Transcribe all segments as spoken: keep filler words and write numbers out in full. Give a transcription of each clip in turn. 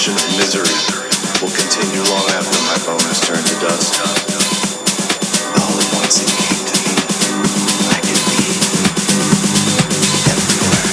tradition of misery will continue long after my bone has turned to dust. All at once it came to me, I could be everywhere.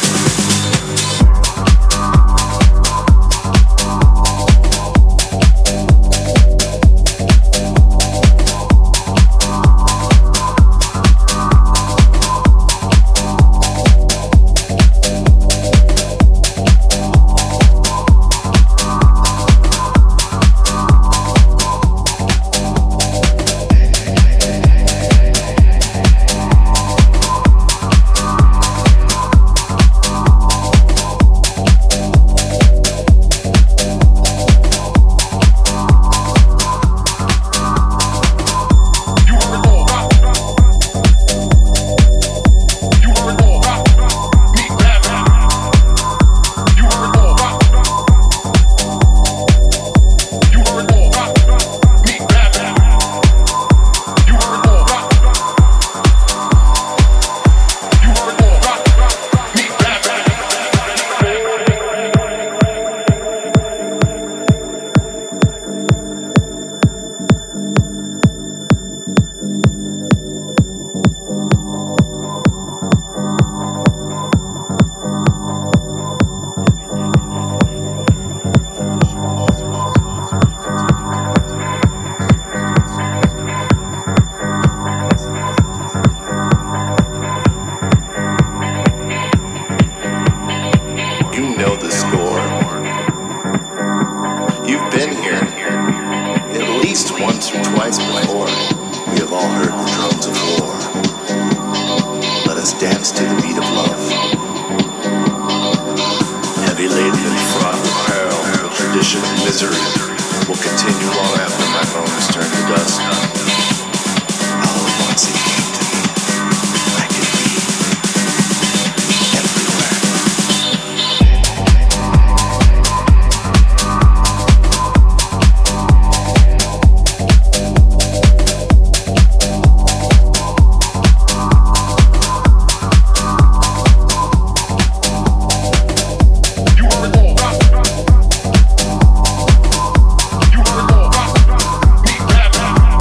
You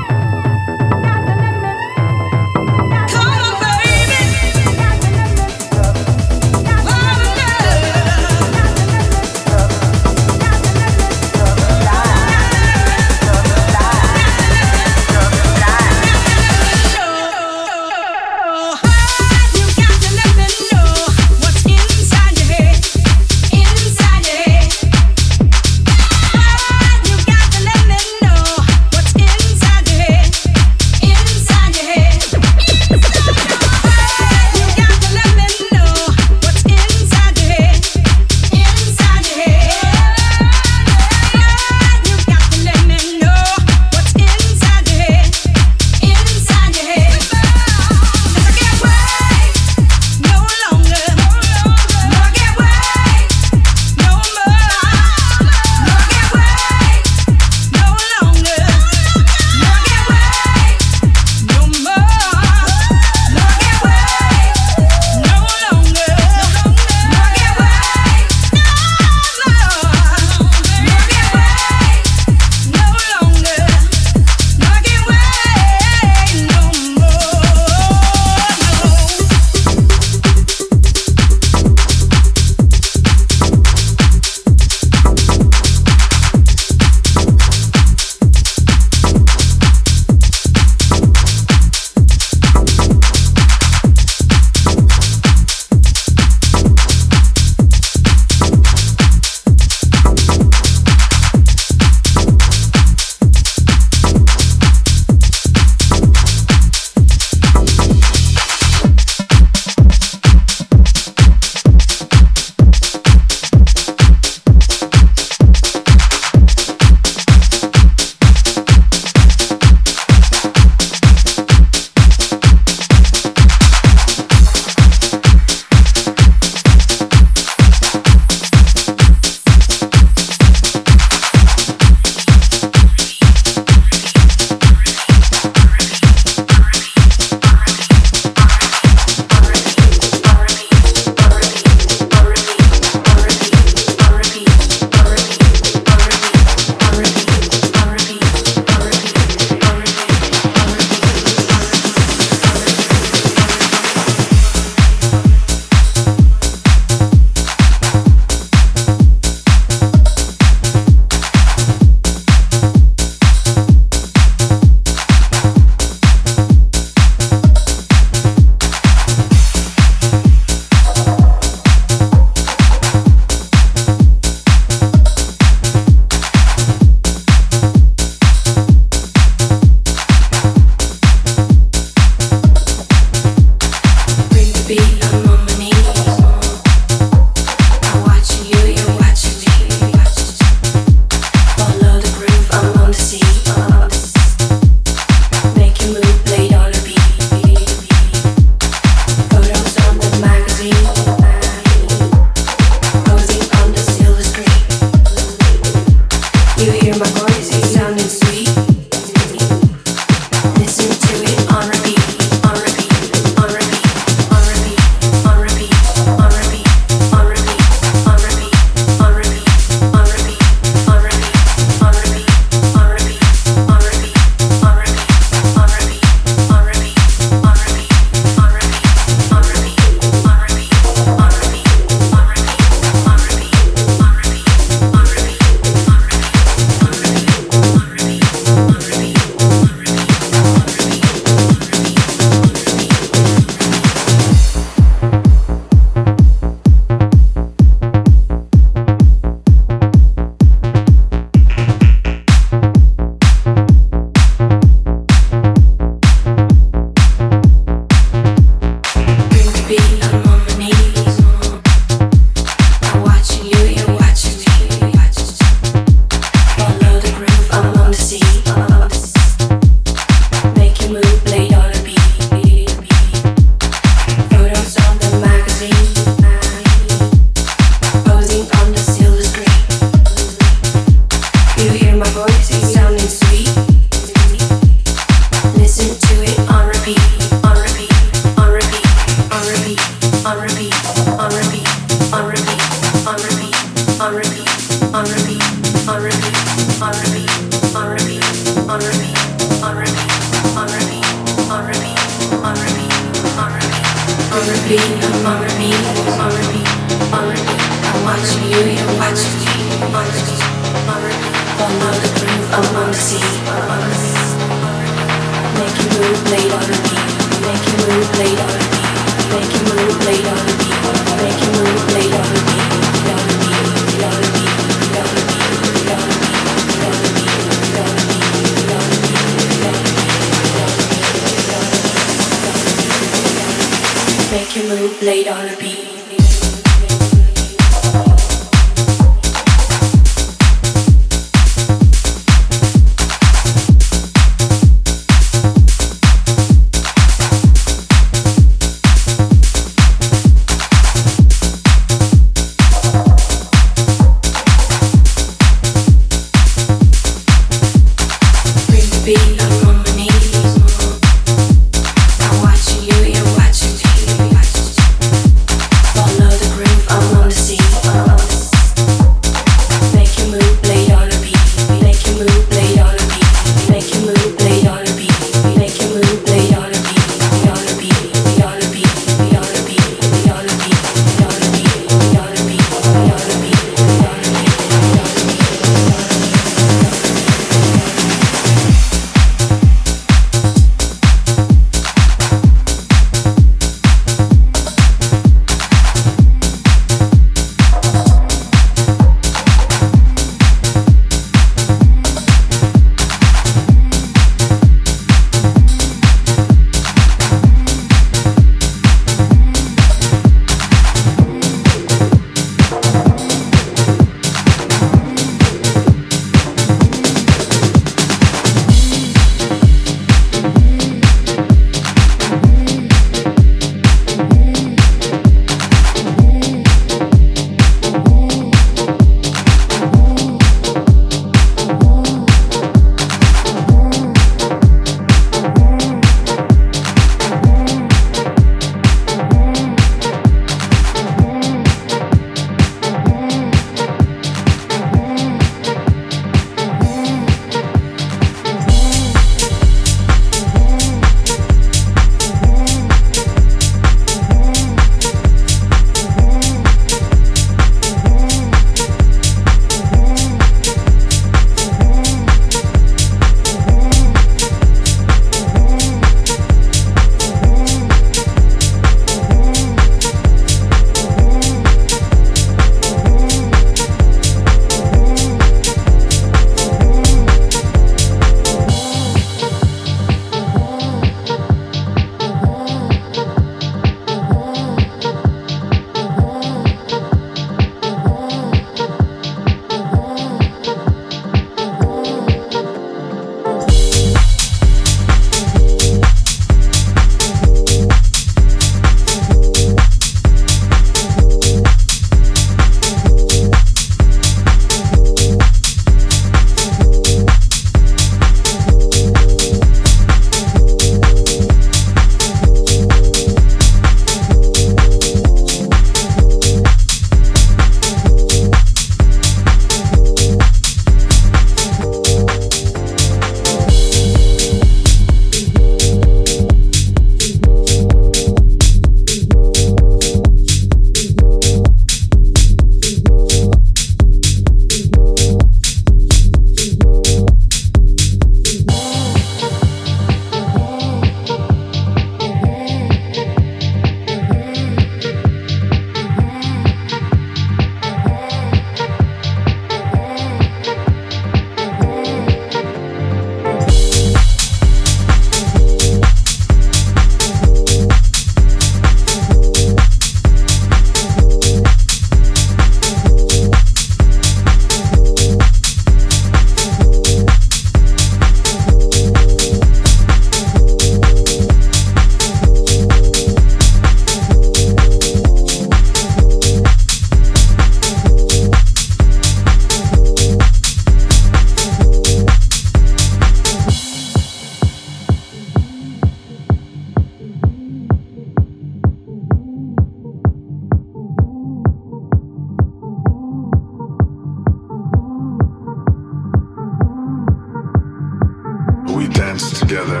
together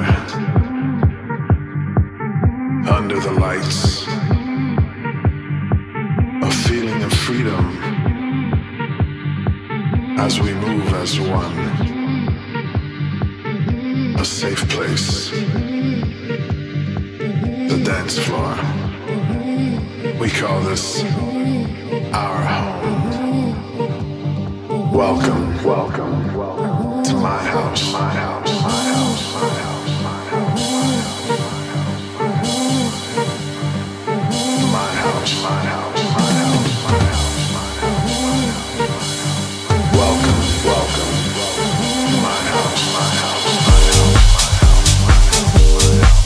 under the lights, a feeling of freedom as we move as one, a safe place, the dance floor. We call this our home. Welcome, welcome, welcome to my house, my house, my house, my house, my house, my house, my house, my house, my house, my house. Welcome, welcome, welcome to my house, my house, my house, my house, my house.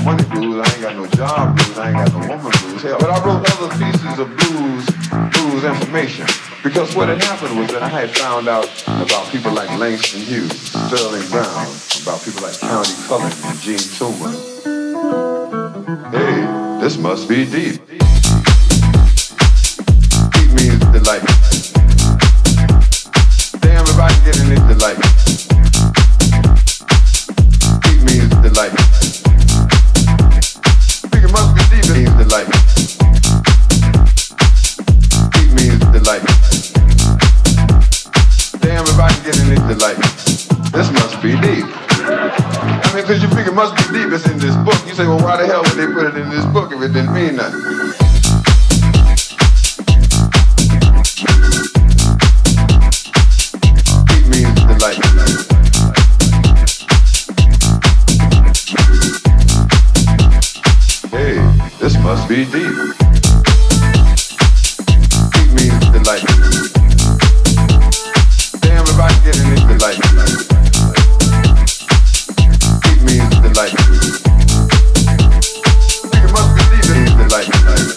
money blues, I ain't got no job blues, I ain't got no woman blues. Hell, but I wrote other pieces of blues, blues information. Because what had happened was that I had found out about people like Langston Hughes, Sterling Brown, about people like County Cullen and Gene Tillman. Hey, this must be deep. Deep means delight. Damn, if I can get in it, delight. Deep means delight. Think it must be deep, it means delight. Deep means delight. Damn, if I can get in it, delight. This must be deep. I mean, because you figure it must be deep, it's in this book. You say, well, why the hell would they put it in this book if it didn't mean nothing? Deep means delight. Hey, this must be deep. Deep means delight. Damn, if I can get in it, delight. Deep means delight. Think it must be deep, it means delight.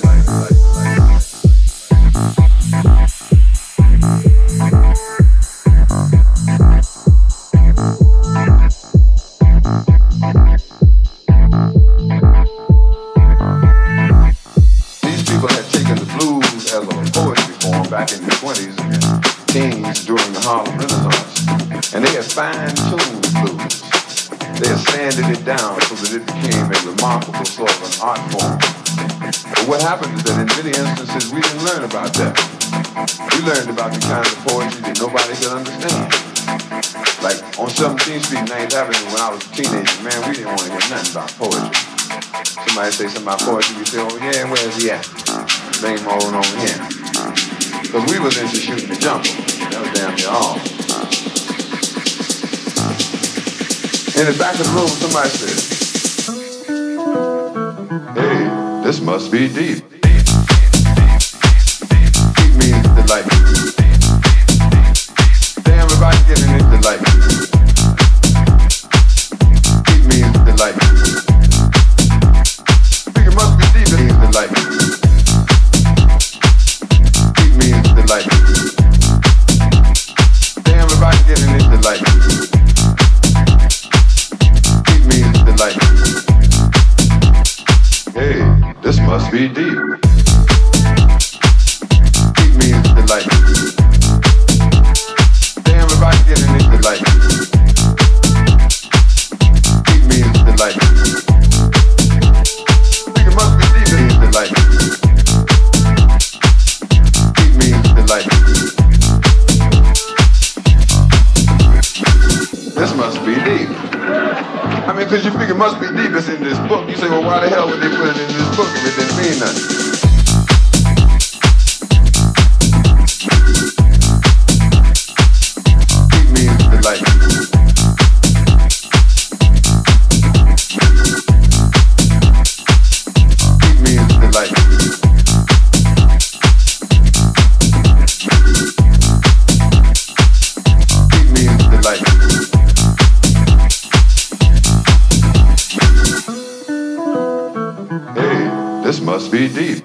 These people had taken the blues as a poetry form back in the twenties and teens during the Harlem Renaissance, and they had fine-tuned the blues. They had sanded it down so that it became a remarkable sort of an art form. But what happened is that in many instances we didn't learn about that. We learned about the kind of poetry that nobody could understand. Like on seventeenth Street, ninth Avenue, when I was a teenager, man, we didn't want to hear nothing about poetry. Somebody say something about poetry, we say, oh yeah, where's he at? Bring him on over here. Because we was into shooting the jumper. That was damn near all. In the back of the room, somebody said, hey, this must be deep. Deep means delight. Damn, if I can get in it, delight. Deep means delight. Think it must be deep, it means delight. Deep means delight. Damn, if I can get in it, delight. Deep means delight. Hey, this must be deep. Deep means delight. Damn, if I can get in it, delight. Deep means delight. Think it must be deep, it means delight. Deep means delight. This must be deep. I mean, because you figure it must be deep, it's in this book. You say, well, why the hell would they put it in this book if it didn't mean nothing? Deep means delight. Deep means delight. Deep means delight. Hey, this must be deep.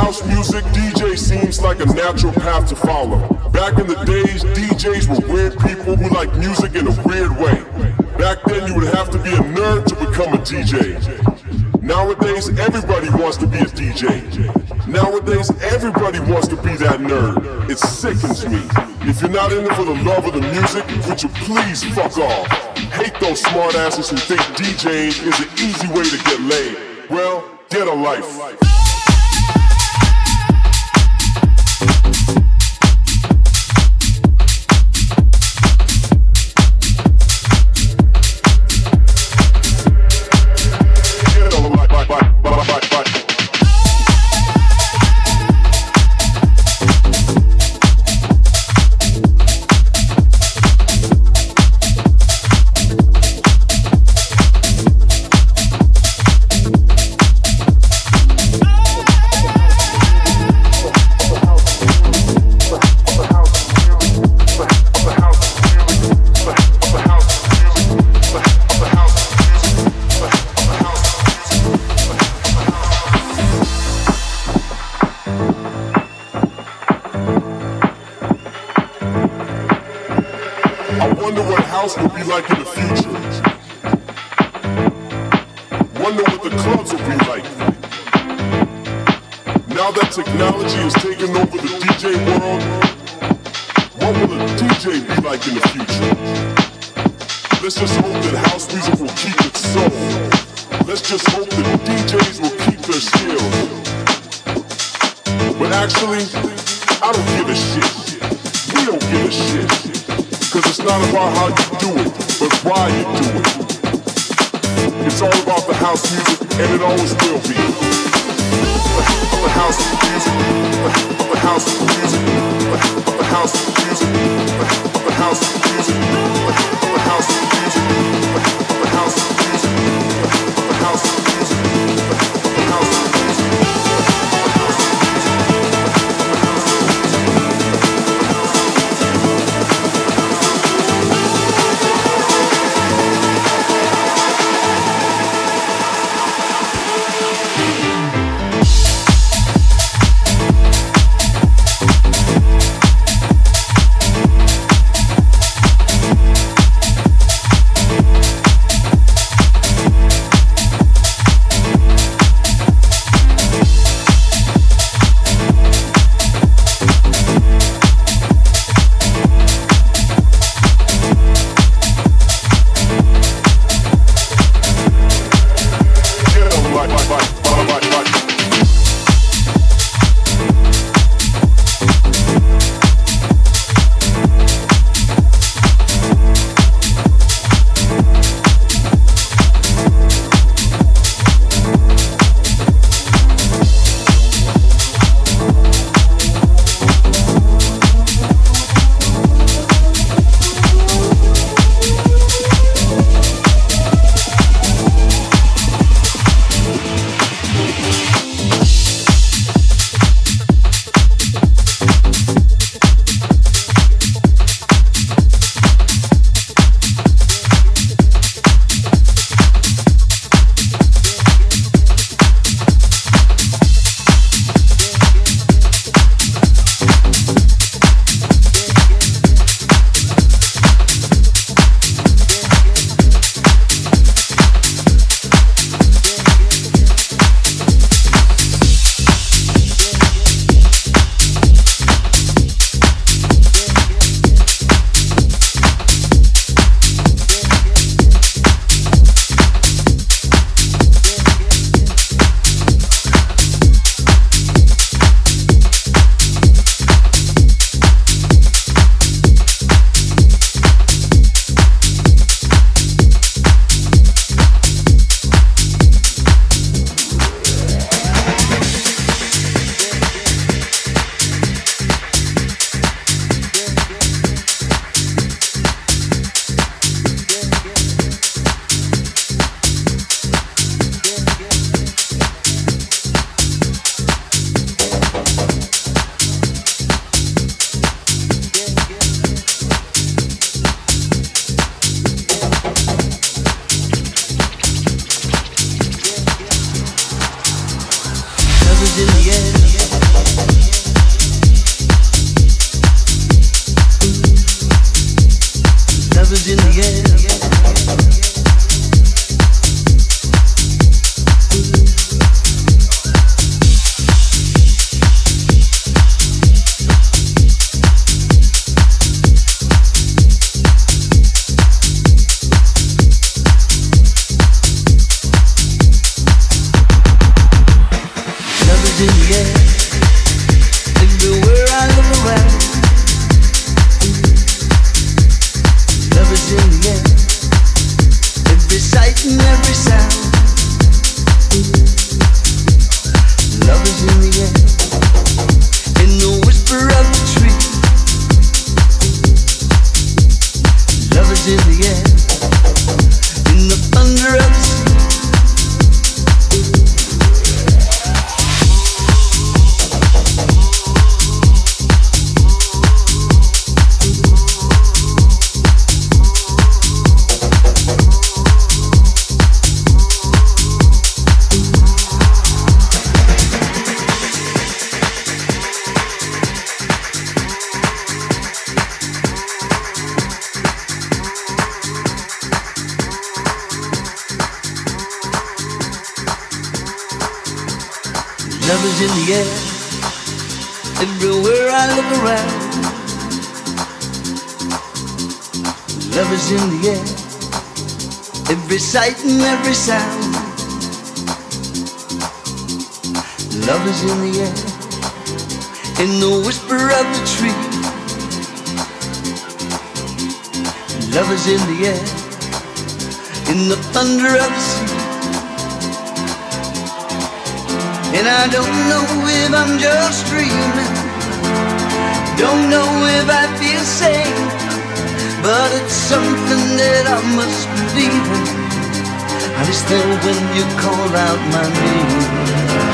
house music, D J seems like a natural path to follow. Back in the days, D Js were weird people who liked music in a weird way. Back then, you would have to be a nerd to become a D J. Nowadays, everybody wants to be a D J. Nowadays, everybody wants to be that nerd. It sickens me. If you're not in it for the love of the music, would you please fuck off? Hate those smartasses who think DJing is an easy way to get laid. Well, get a life. Will be like in the future. Wonder what the clubs will be like. Now that technology has taken over the D J world, what will a D J be like in the future? Let's just hope that house music will keep its soul. Let's just hope that D Js will keep their skills. But actually, I don't give a shit. We don't give a shit. Cause it's not about how you do it, but why you do it. It's all about the house music, and it always will be. The house music, the house music, the house music, the house music, the house music, the house music, the house music, the house music. Love is in the air, everywhere I look around. Love is in the air, every sight and every sound. Love is in the air, in the whisper of the tree. Love is in the air, in the thunder of the sea. And I don't know if I'm just dreaming, don't know if I feel sane, but it's something that I must believe in. I just know when you call out my name.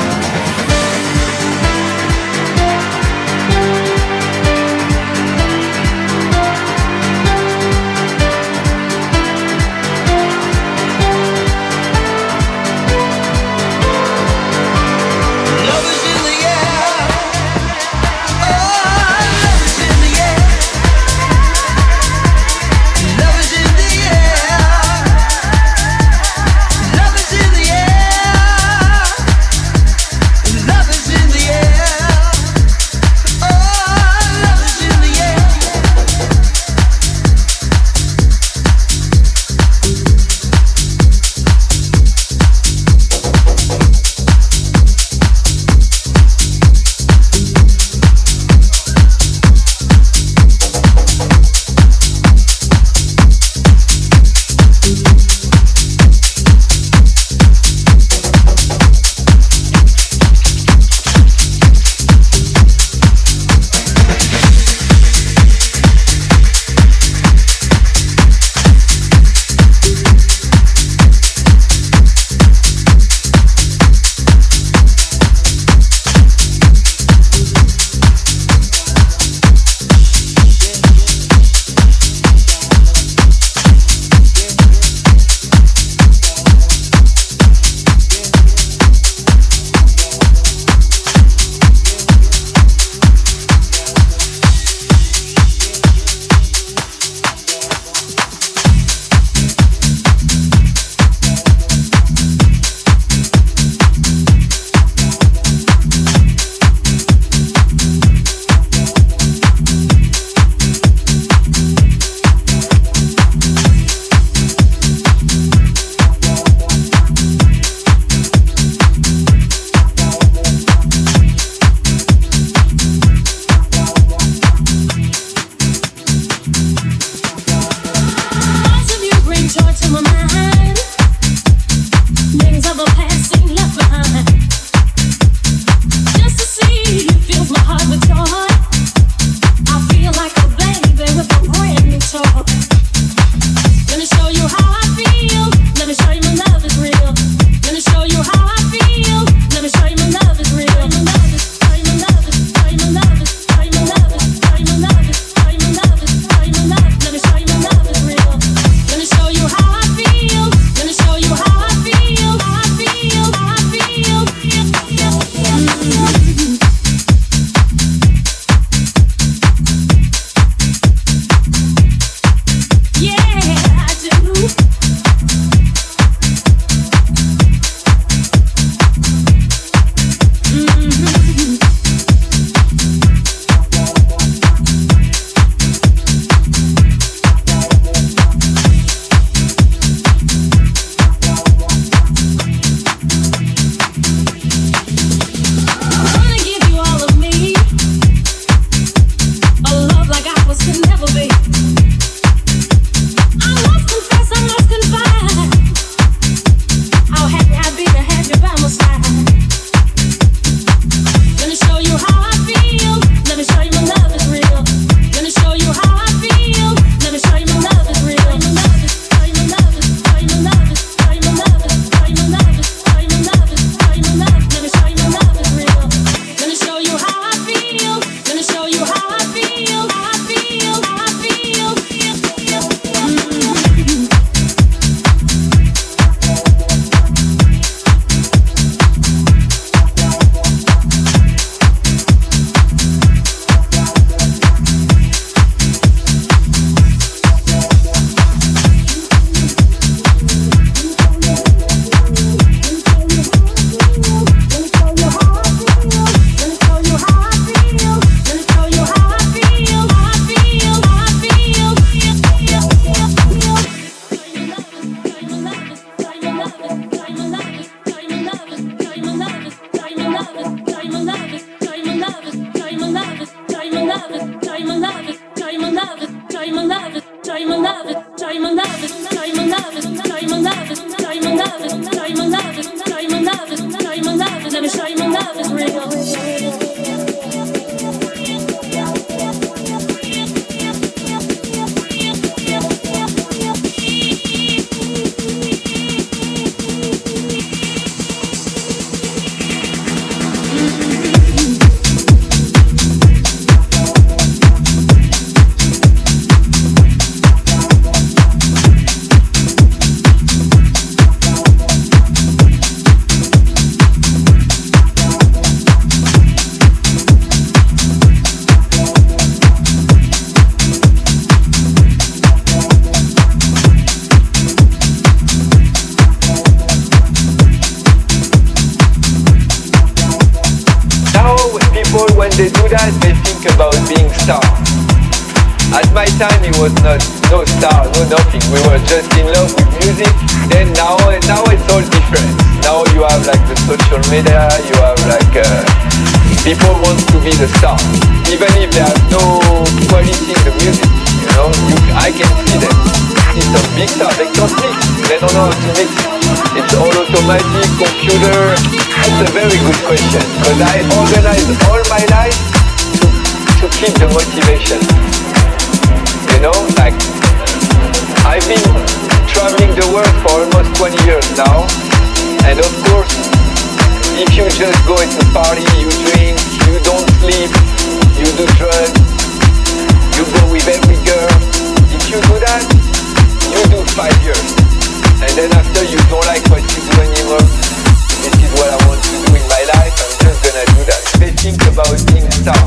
when they do that, they think about being star. At my time, it was not no star, no nothing. We were just in love with music. Then now, now it's all different. Now you have like the social media. You have like uh, people want to be the star, even if they have no quality in the music. You know, you, I can see them. See some big stars. They can't mix. They don't know how to mix. It's all automatic, computer. That's a very good question because I organized all my life to to keep the motivation. You know, like, I've been traveling the world for almost twenty years now, and of course, if you just go to party, you drink, you don't sleep, you do drugs, you go with every girl, if you do that, you do five years, and then after you don't like what you do anymore, this is what I want to do in my life, I'm just gonna do that. They think about being star.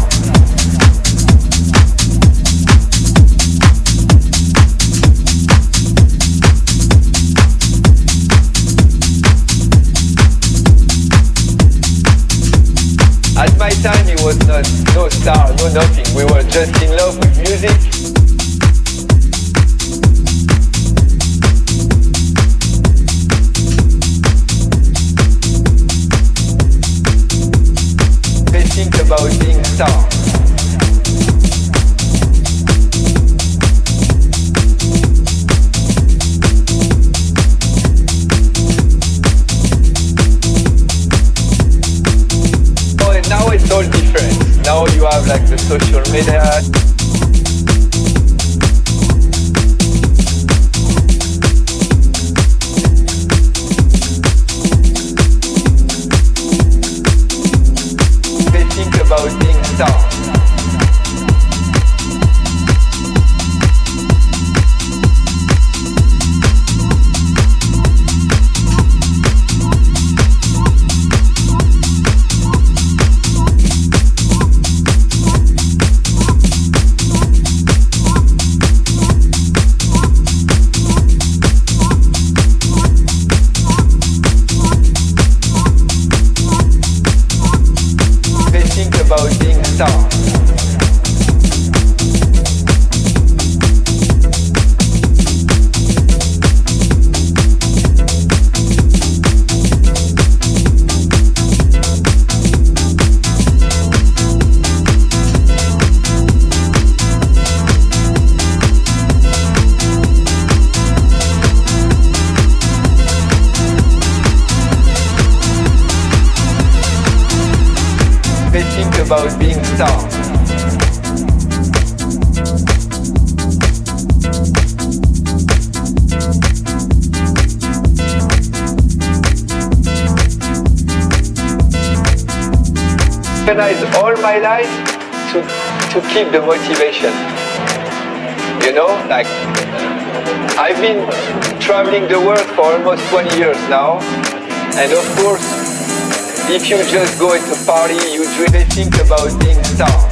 At my time, it was not no star, no nothing. We were just in love with music. They think about being star. Now it's all different. Now you have like the social media. They think about being star. About being star. They think about being star. Organize all my life to to keep the motivation. You know, like, I've been traveling the world for almost twenty years now, and of course, if you just go to a party, you really think about being star.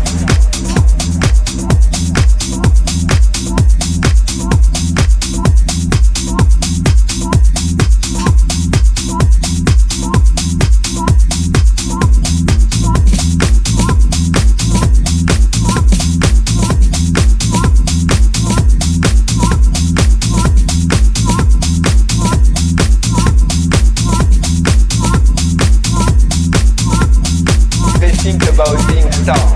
Think about being star.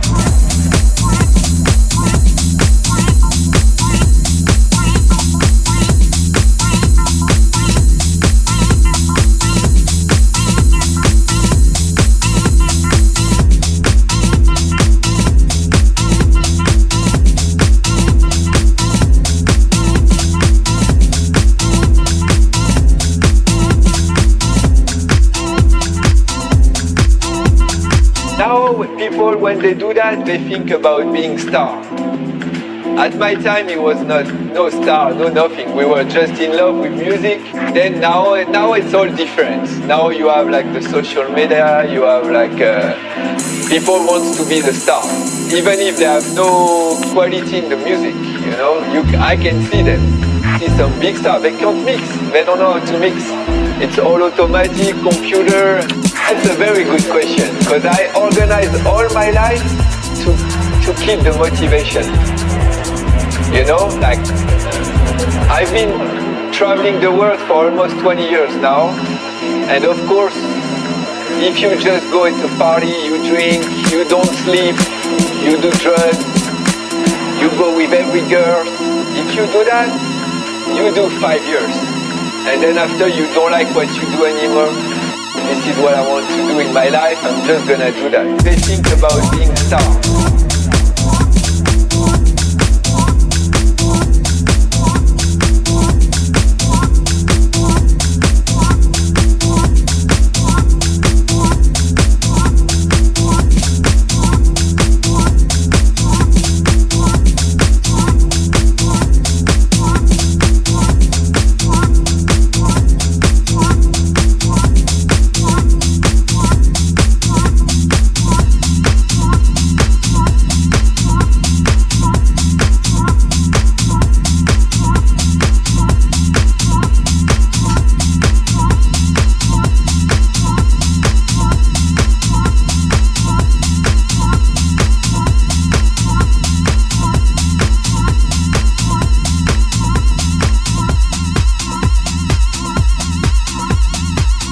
Now people, when they do that, they think about being star. At my time, it was not no star, no nothing. We were just in love with music. Then now, now it's all different. Now you have like the social media. You have like uh, people want to be the star, even if they have no quality in the music. You know, you I can see them. See some big stars. They can't mix. They don't know how to mix. It's all automatic, computer. That's a very good question, because I organize all my life to to keep the motivation. You know, like I've been traveling the world for almost twenty years now, and of course, if you just go into party, you drink, you don't sleep, you do drugs, you go with every girl. If you do that, you do five years, and then after you don't like what you do anymore. This is what I want to do in my life, I'm just gonna do that. They think about being star.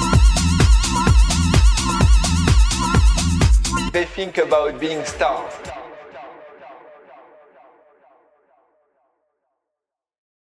They think about being star.